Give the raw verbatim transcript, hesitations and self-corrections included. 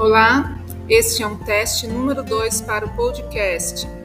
Olá, este é um teste número dois para o podcast.